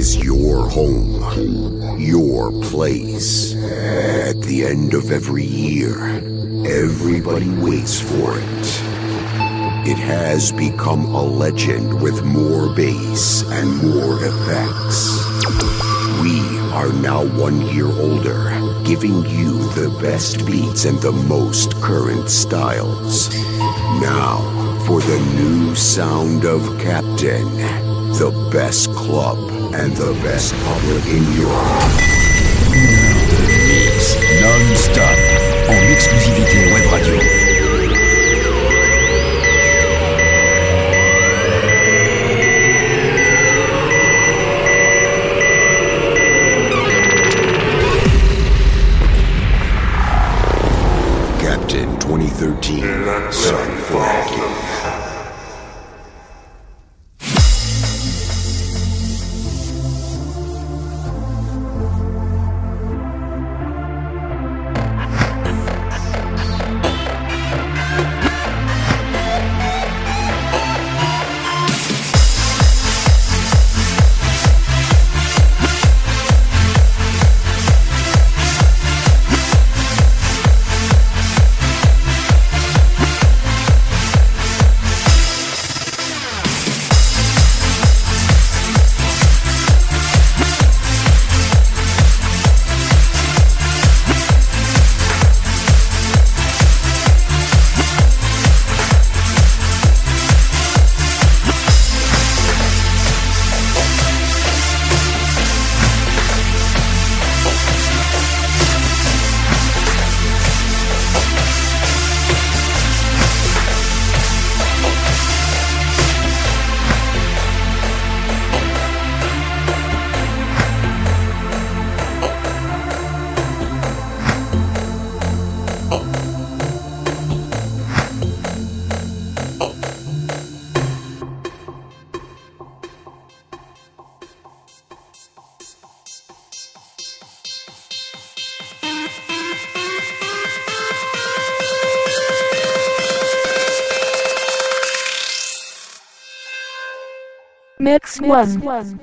is your home, your place. At the end of every year, everybody waits for it. It has become a legend with more bass and more effects. We are now 1 year older, giving you the best beats and the most current styles. Now, for the new sound of Captain, the best club and the best public in Europe. 1 heure de mix non-stop en exclusivité Web Radio. Captain 2013, Son Frankie. Mix 1.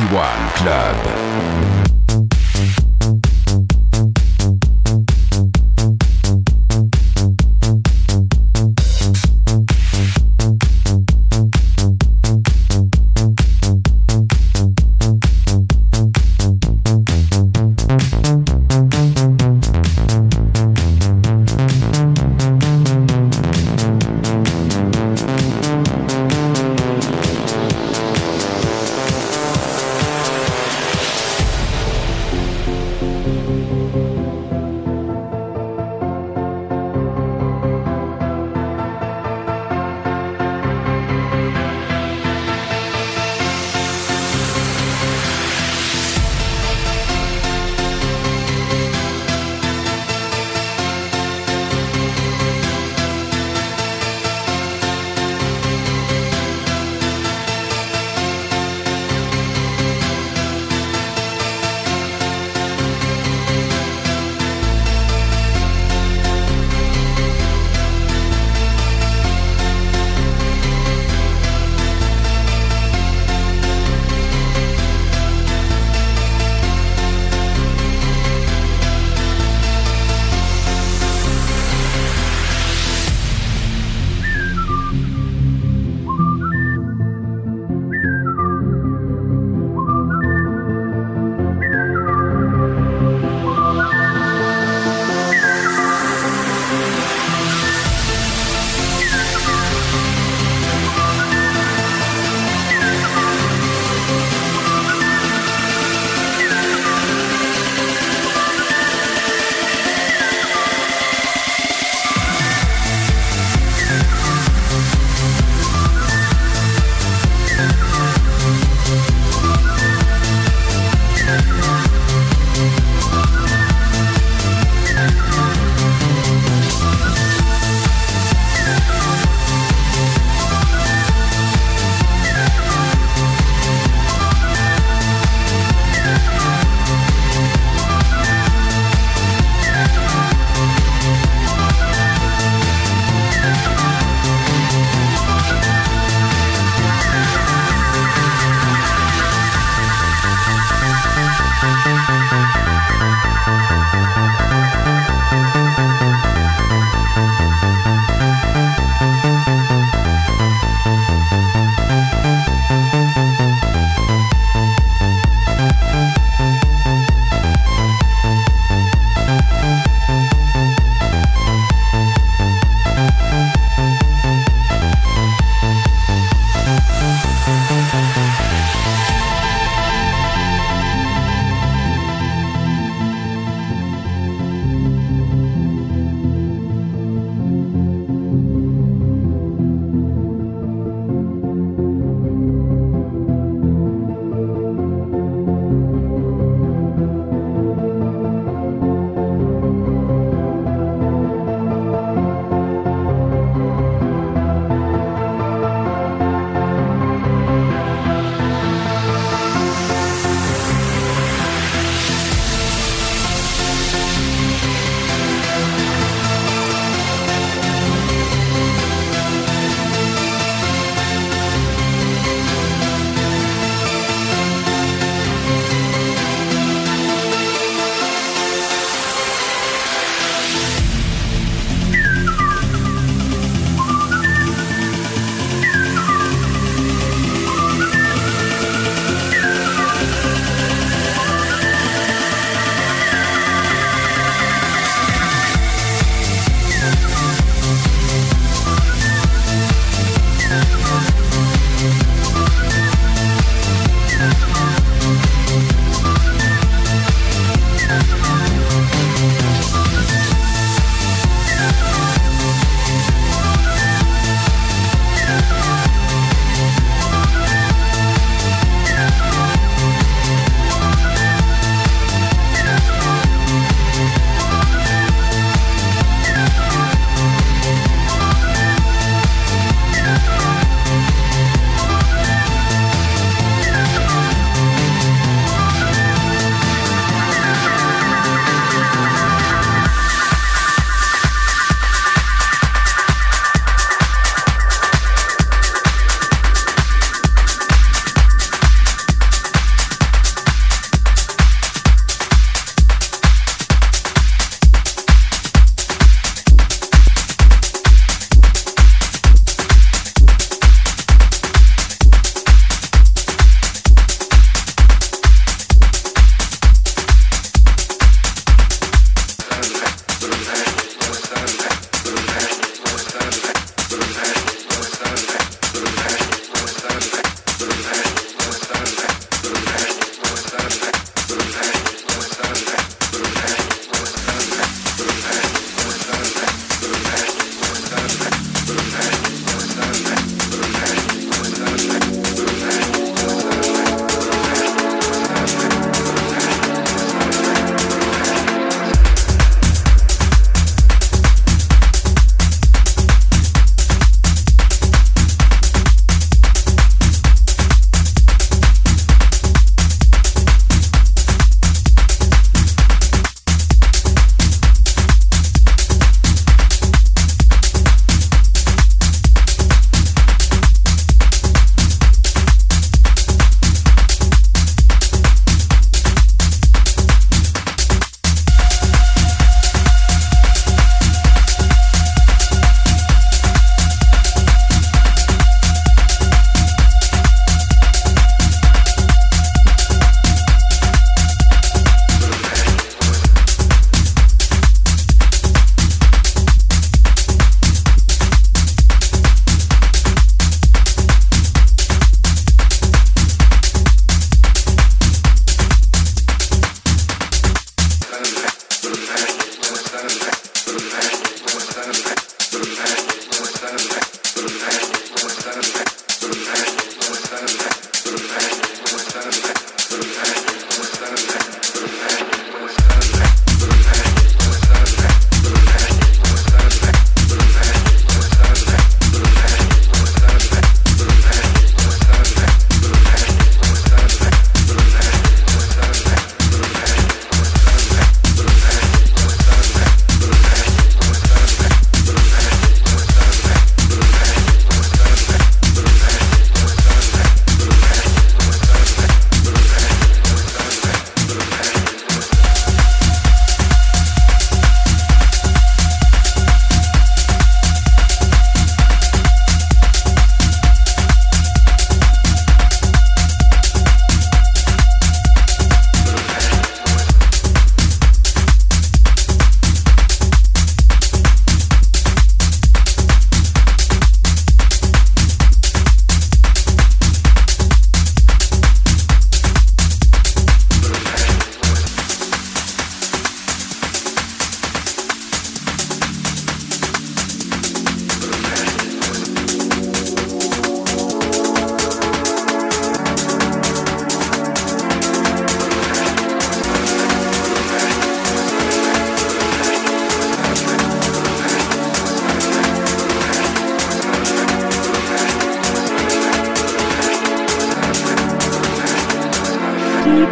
One Club.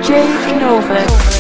DJ Nova.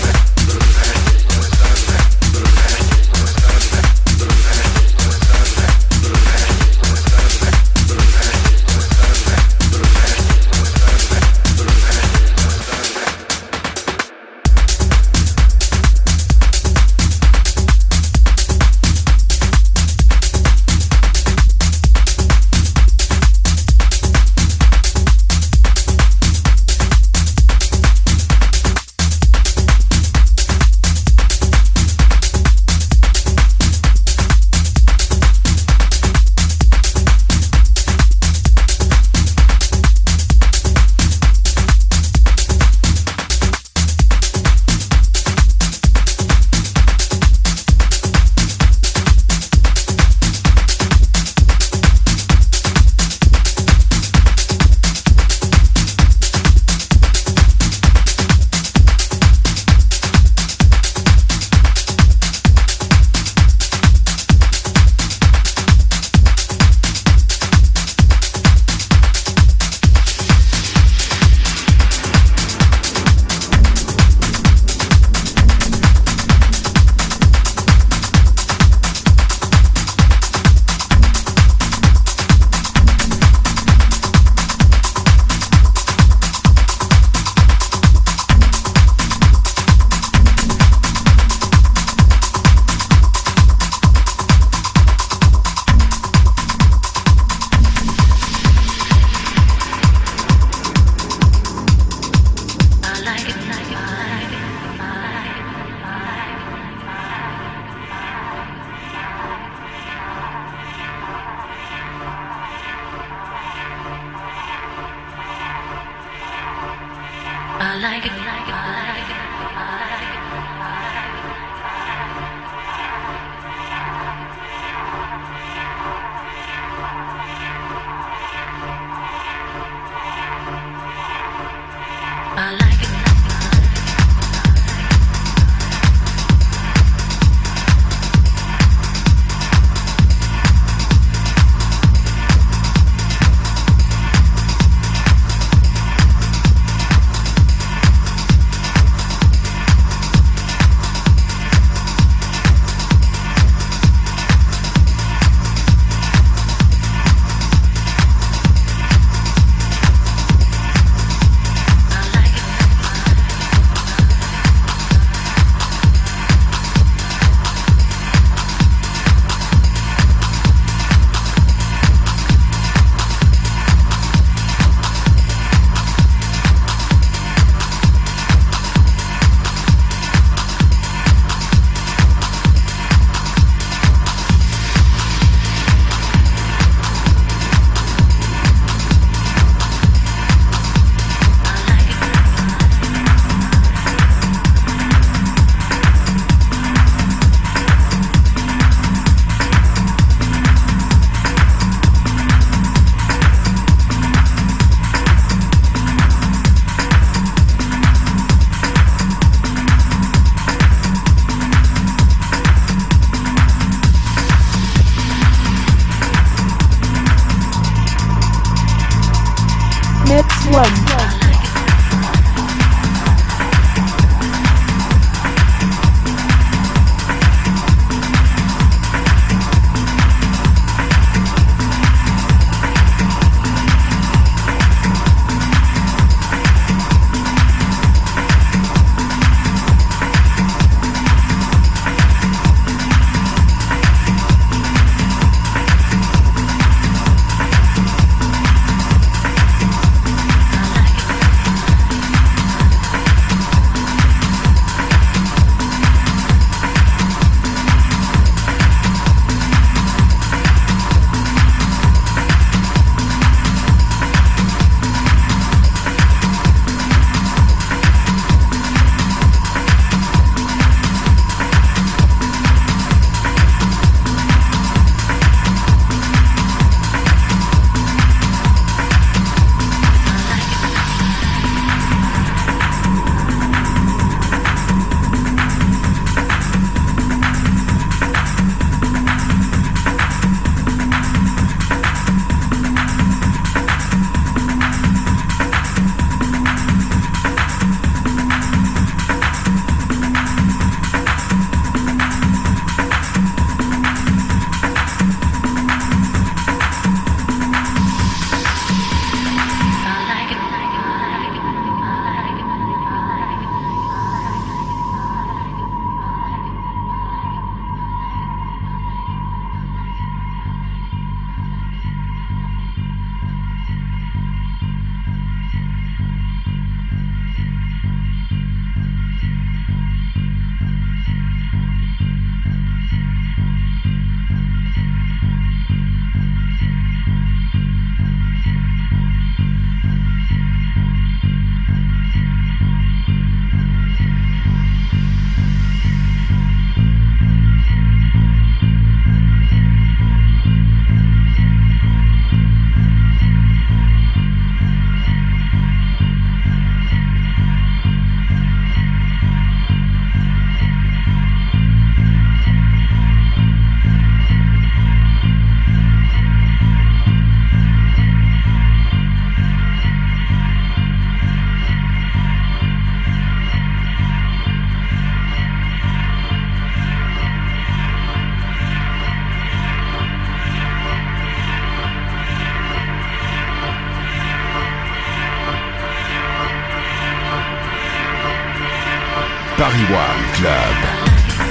Paris One Club.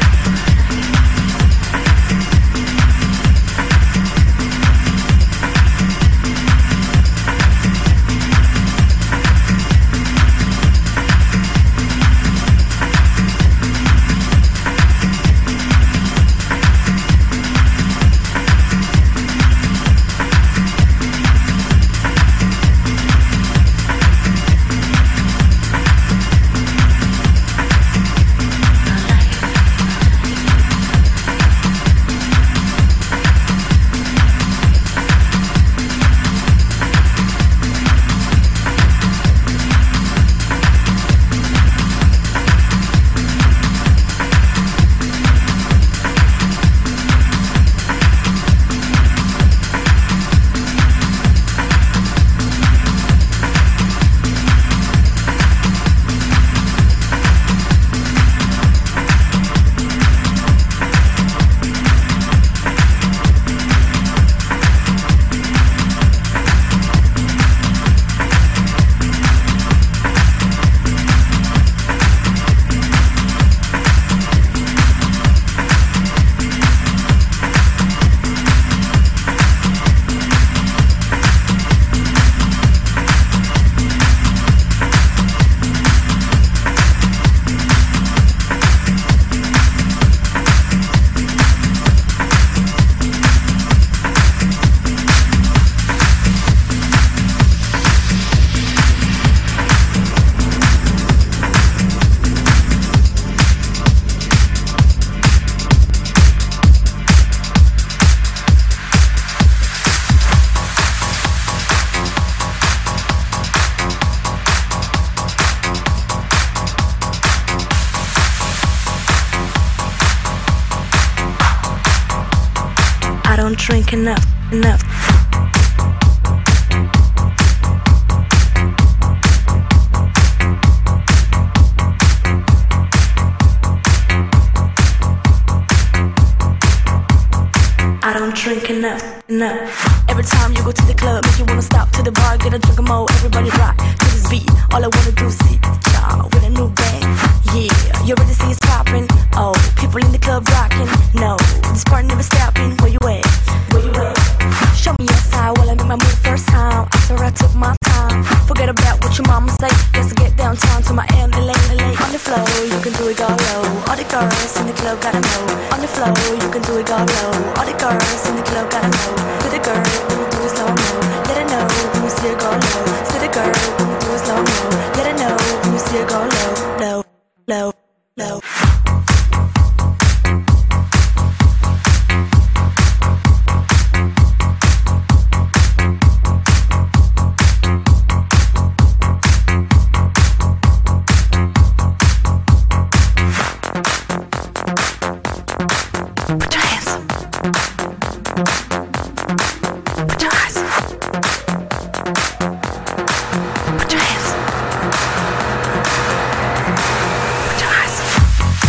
don't drink enough. I don't drink enough. Every time you go to the club, make you wanna stop to the bar, get a drink of more. Everybody rock to this beat. All I wanna do is see y'all with a new bang. Yeah, you already see it's popping. Oh, people in the club rocking. No, this party never stopping. Where you at? Show me your side while I make my move first time. After I took my time, forget about what your mama say. Let's get downtown to my LA. On the floor, you can do it all low. All the girls in the club gotta know. On the floor, you can do it all low. All the girls in the club gotta know. To the girl, when you do it slow mo. Let her know when you see her go low. To the girl, when you do it slow mo. Let her know when you see her go low. Put your hands up. Put your eyes up. Put your hands up. Put your eyes up.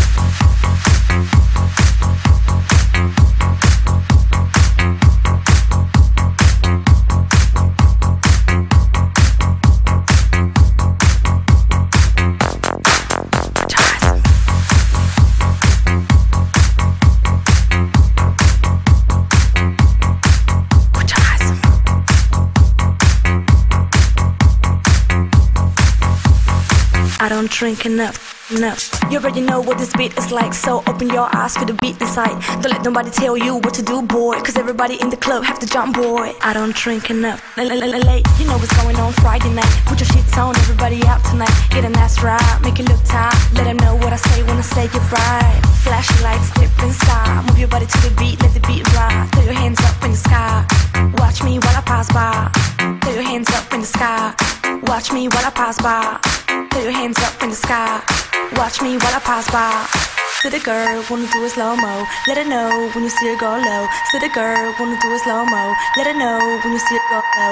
I don't drink enough. You already know what this beat is like, so open your eyes for the beat inside. Don't let nobody tell you what to do, boy, cause everybody in the club have to jump, boy. I don't drink enough. Late, you know what's going on Friday night. Put your shits on, everybody out tonight. Get a nice ride, make it look tight. Let them know what I say when I say it right. Flash your lights, dip inside. Move your body to the beat, let the beat ride. Throw your hands up in the sky. Watch me while I pass by. Throw your hands up in the sky. Watch me while I pass by. Throw your hands up in the sky. Watch me while I pass by. To the girl, wanna do it slow-mo. Let her know when you see her go low. To the girl, wanna do it slow-mo. Let her know when you see her go low.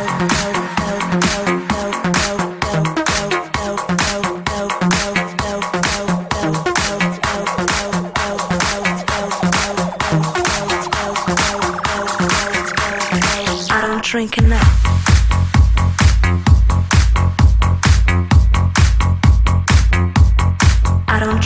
I don't drink enough. I don't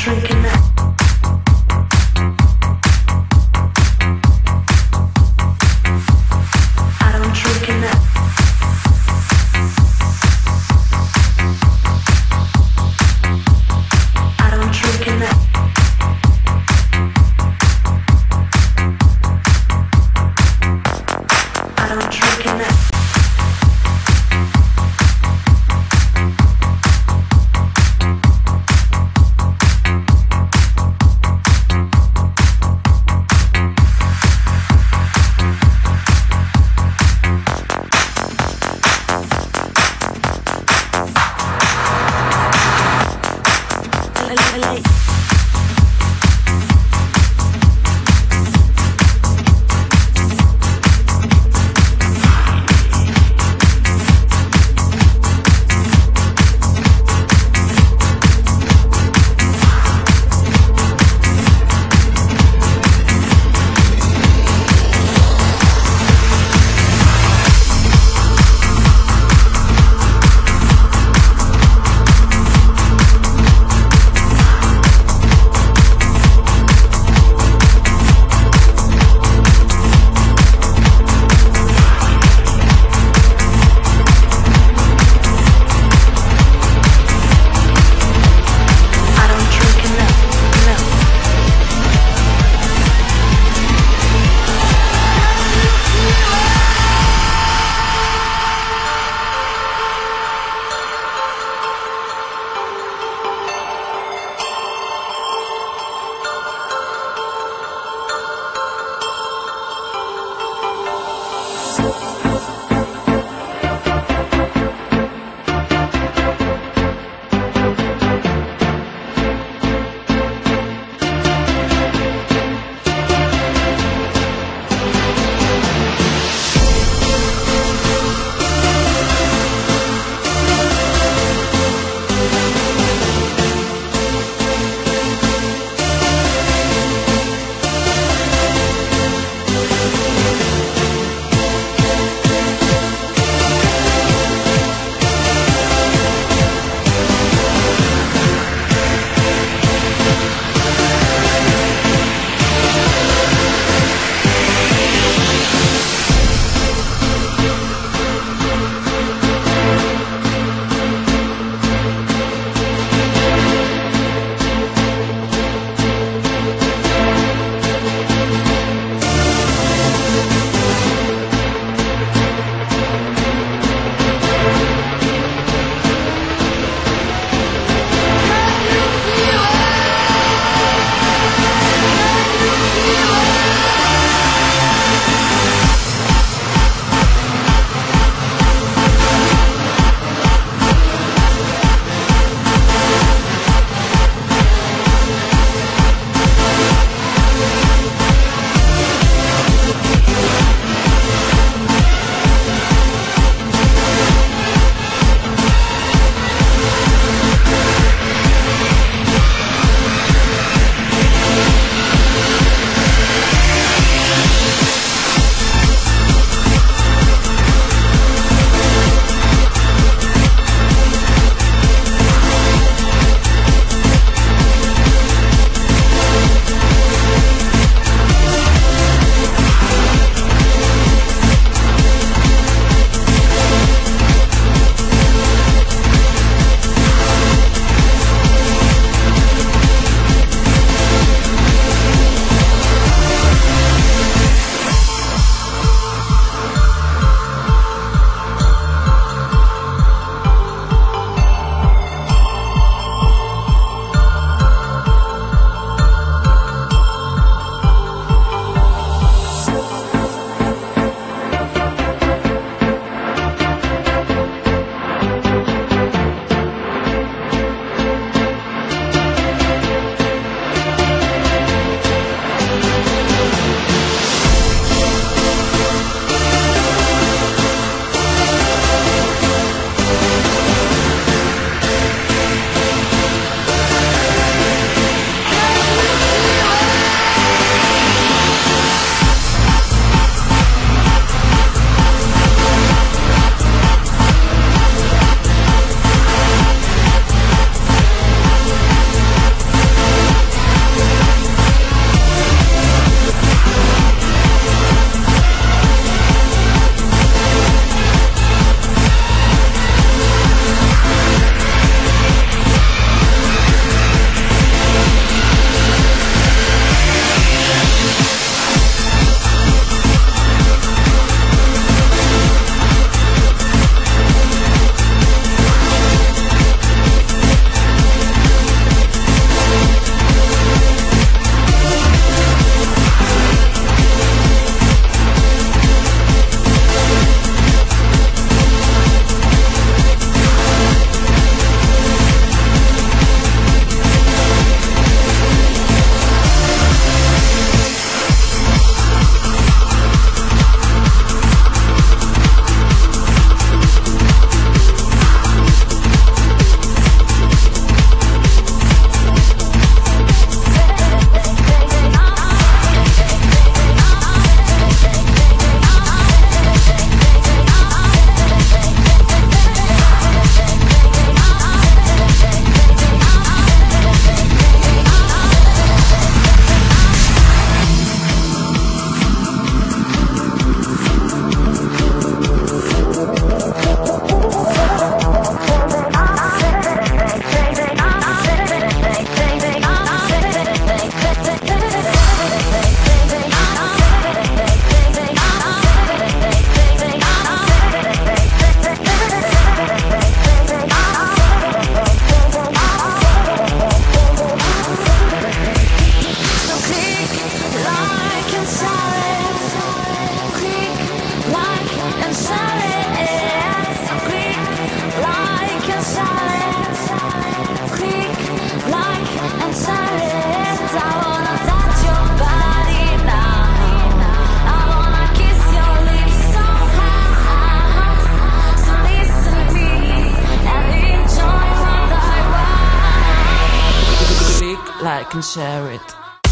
and share it.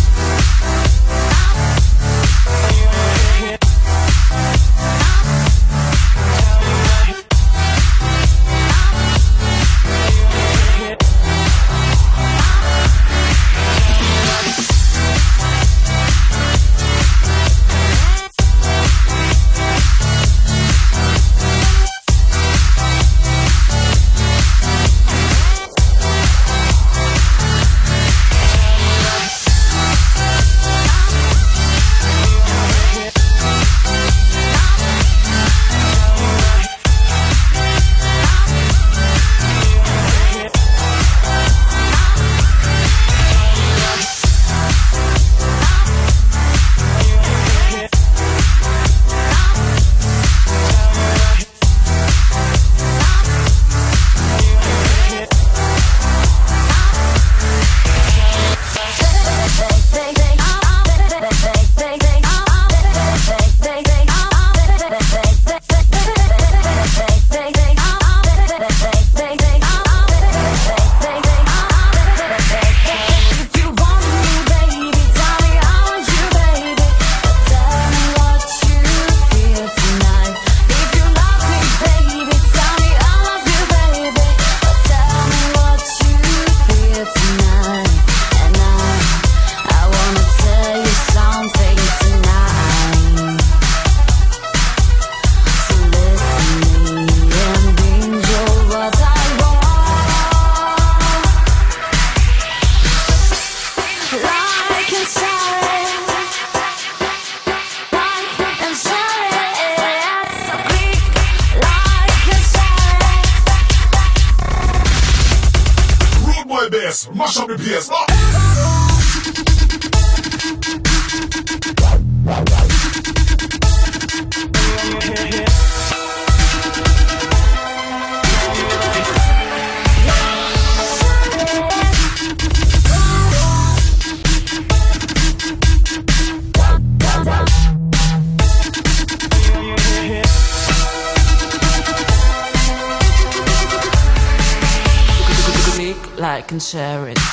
Mash up the place. Like and share it.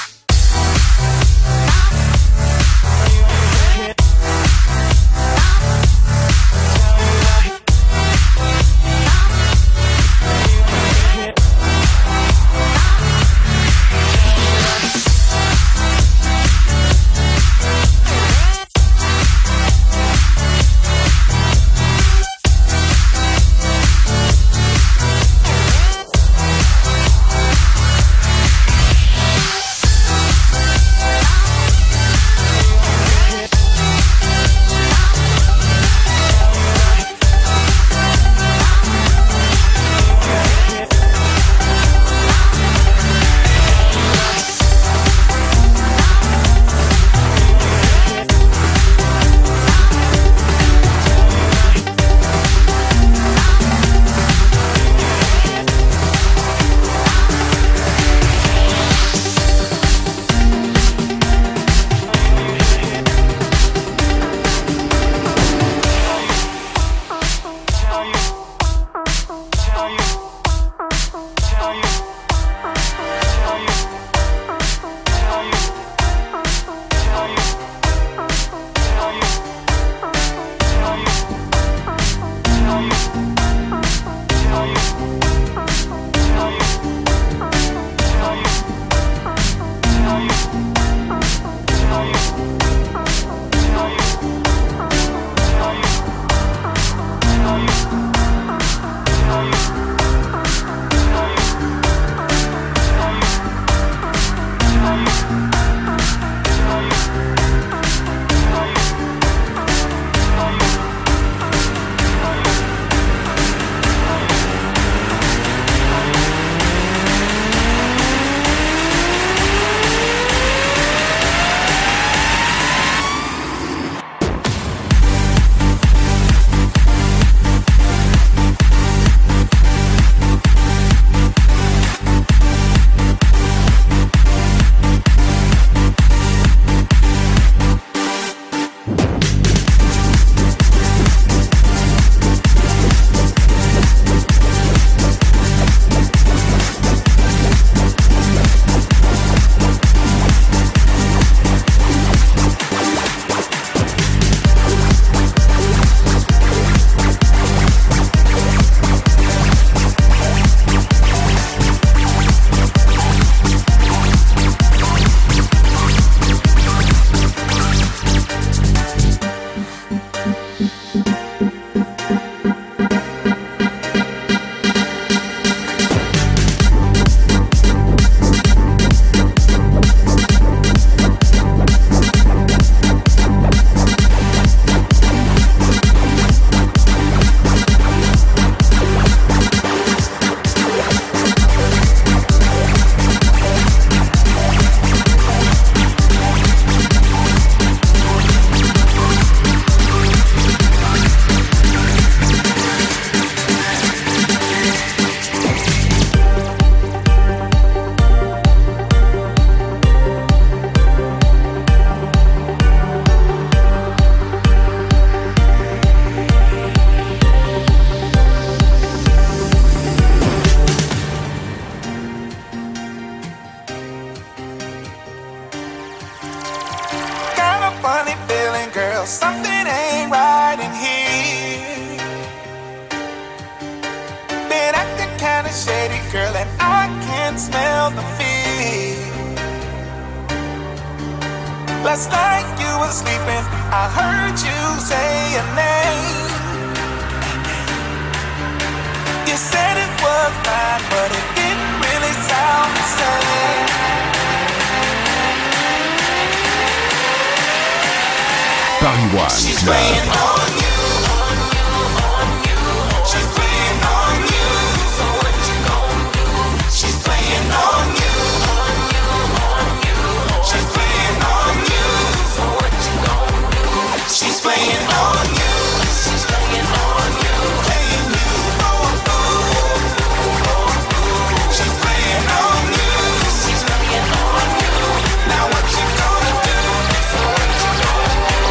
girl, something ain't right in here. Been acting kinda shady, girl, and I can smell the fear. Last night you were sleeping, I heard you say your name. You said it was mine, but it didn't really sound the same. Paris One She's Club. playing on you, on you, on you. She's playing on you, so what you gonna do? She's playing on you, on you, on you. She's playing on you, so what you gonna do? She's playing on you, she's playing on you, playing you, oh, oh. She's playing on you, she's playing on you. Now what you gonna do? So what you gonna do?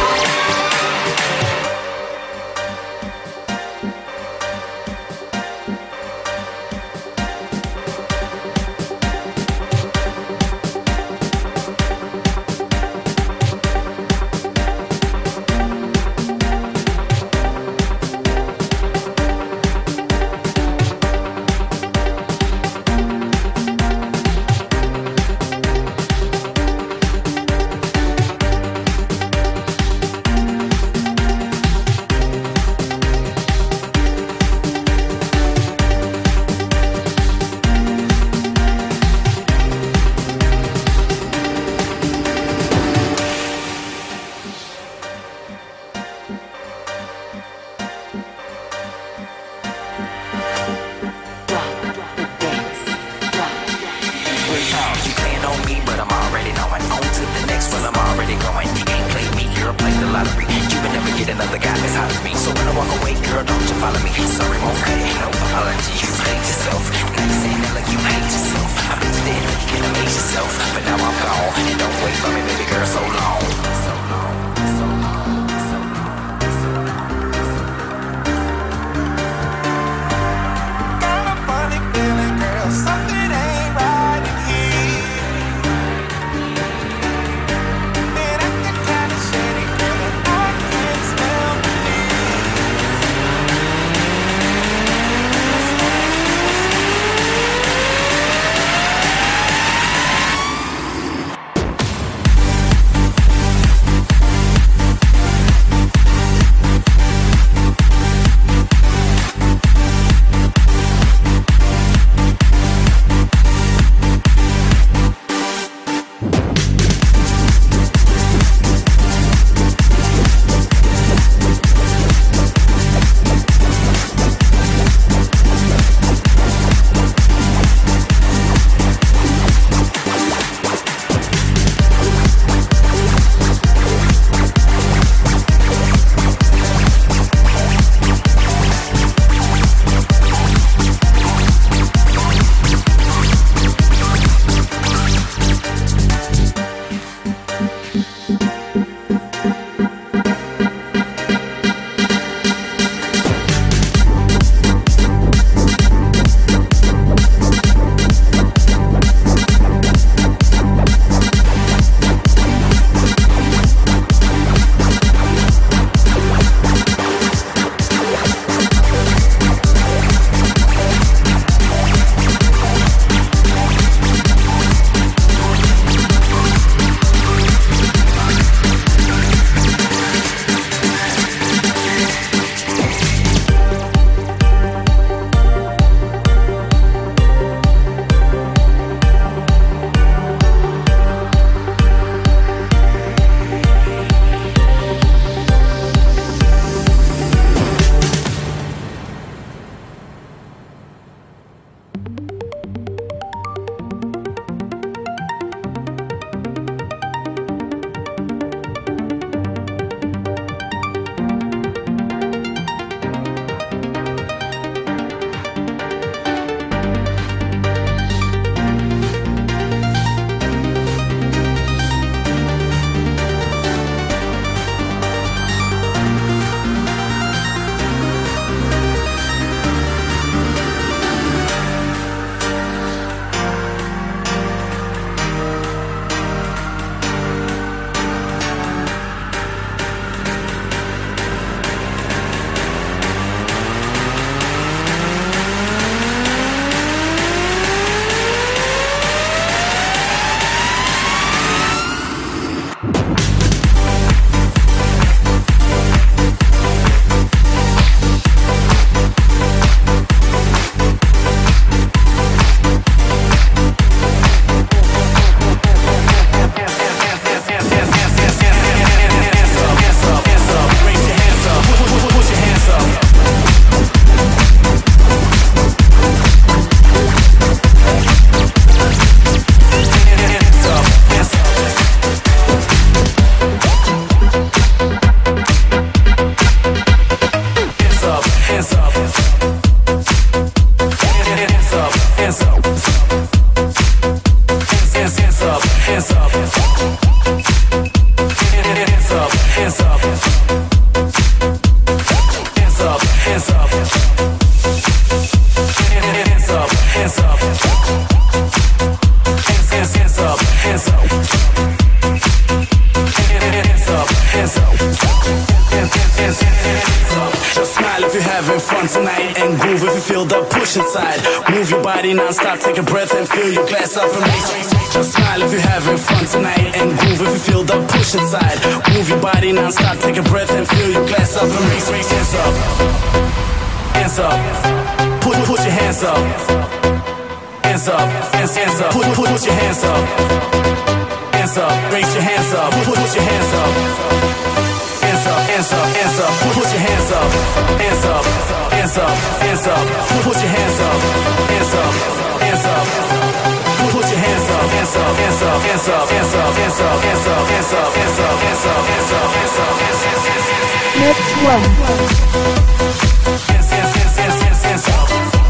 Just smile if you're having fun tonight, and groove if you feel the push inside. Move your body non-stop, take a breath and fill your glass up and raise. Just smile if you're having fun tonight, and groove if you feel the push inside. Move your body non-stop, take a breath and fill your glass up and raise. Hands up, hands up, put your hands up, hands up, hands up, put your hands up, hands up, raise your hands up, put your hands up. Hands up, hands up, put your hands up, hands up, hands up, hands up, put your hands up, hands up, hands up, put your hands up, hands up, hands up, hands up, hands up, hands up, hands up, hands up, hands up, hands up, hands up, hands up, hands up. Next one. Hands, hands, hands, hands, hands, hands up.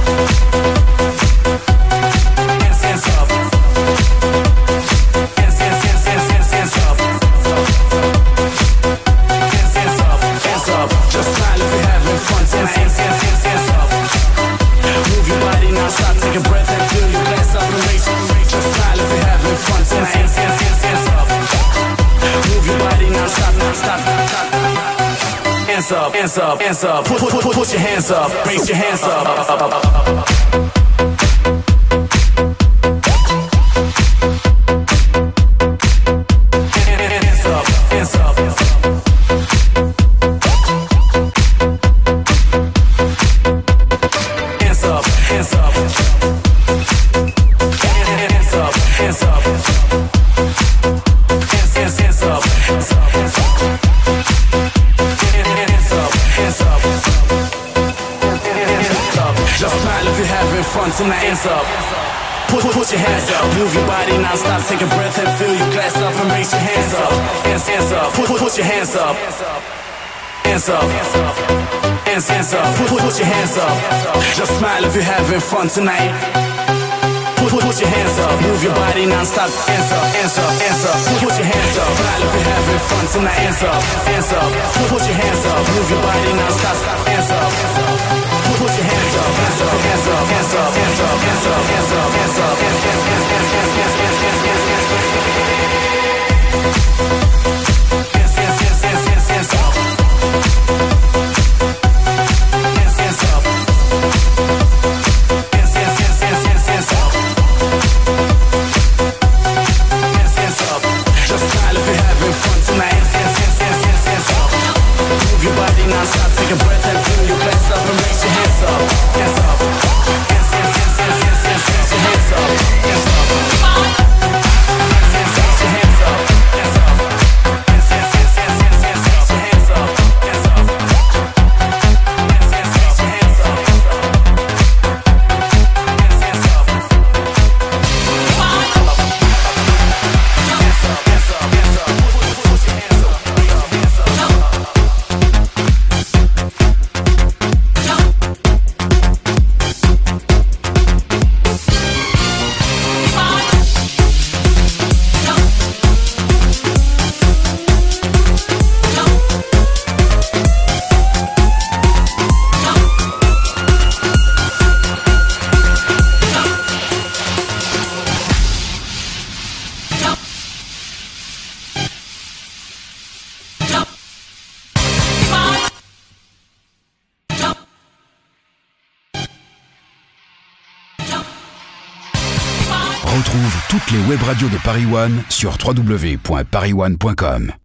Hands, hands up. Hands, hands, hands, hands, hands, hands up. Just smile if you're having fun tonight. Hands up. Move your body non-stop, take a breath and fill your glass up and raise. Just smile if you're having fun tonight. Hands up. Move your body non-stop, non-stop. Hands up, hands up, hands up. Put your hands up, raise your hands up. Tonight, hands up. Put your hands up. Move your body non-stop. Take a breath and fill your glass up and raise your hands up. Hands up. Put your hands up. Hands up. Hands up. Put your hands up. Just smile if you're having fun tonight. Put your hands up. Move your body non-stop. Hands up. Hands up. Hands up. Put your hands up. Smile if you're having fun tonight. Hands up. Hands up. Put your hands up. Move your body non-stop. Hands up. Put your hands up, hands up, hands up, hands up, hands up, hands up, hands up, hands up, hands up, just smile if you're having fun tonight. Move your body non-stop, take a breath and fill your glass up and raise your hands up, hands up, hands, hands, hands, hands, hands, hands, raise your hands up, hands up, hands, hands, raise your hands up, hands up, hands, hands, hands, hands, hands, hands, raise your hands up, hands up, hands, hands, raise your hands up, hands up, hands, hands up, hands up, hands up, hands up, put your hands up, hands up, hands up. Retrouve toutes les web radios de Paris One sur www.parisone.com.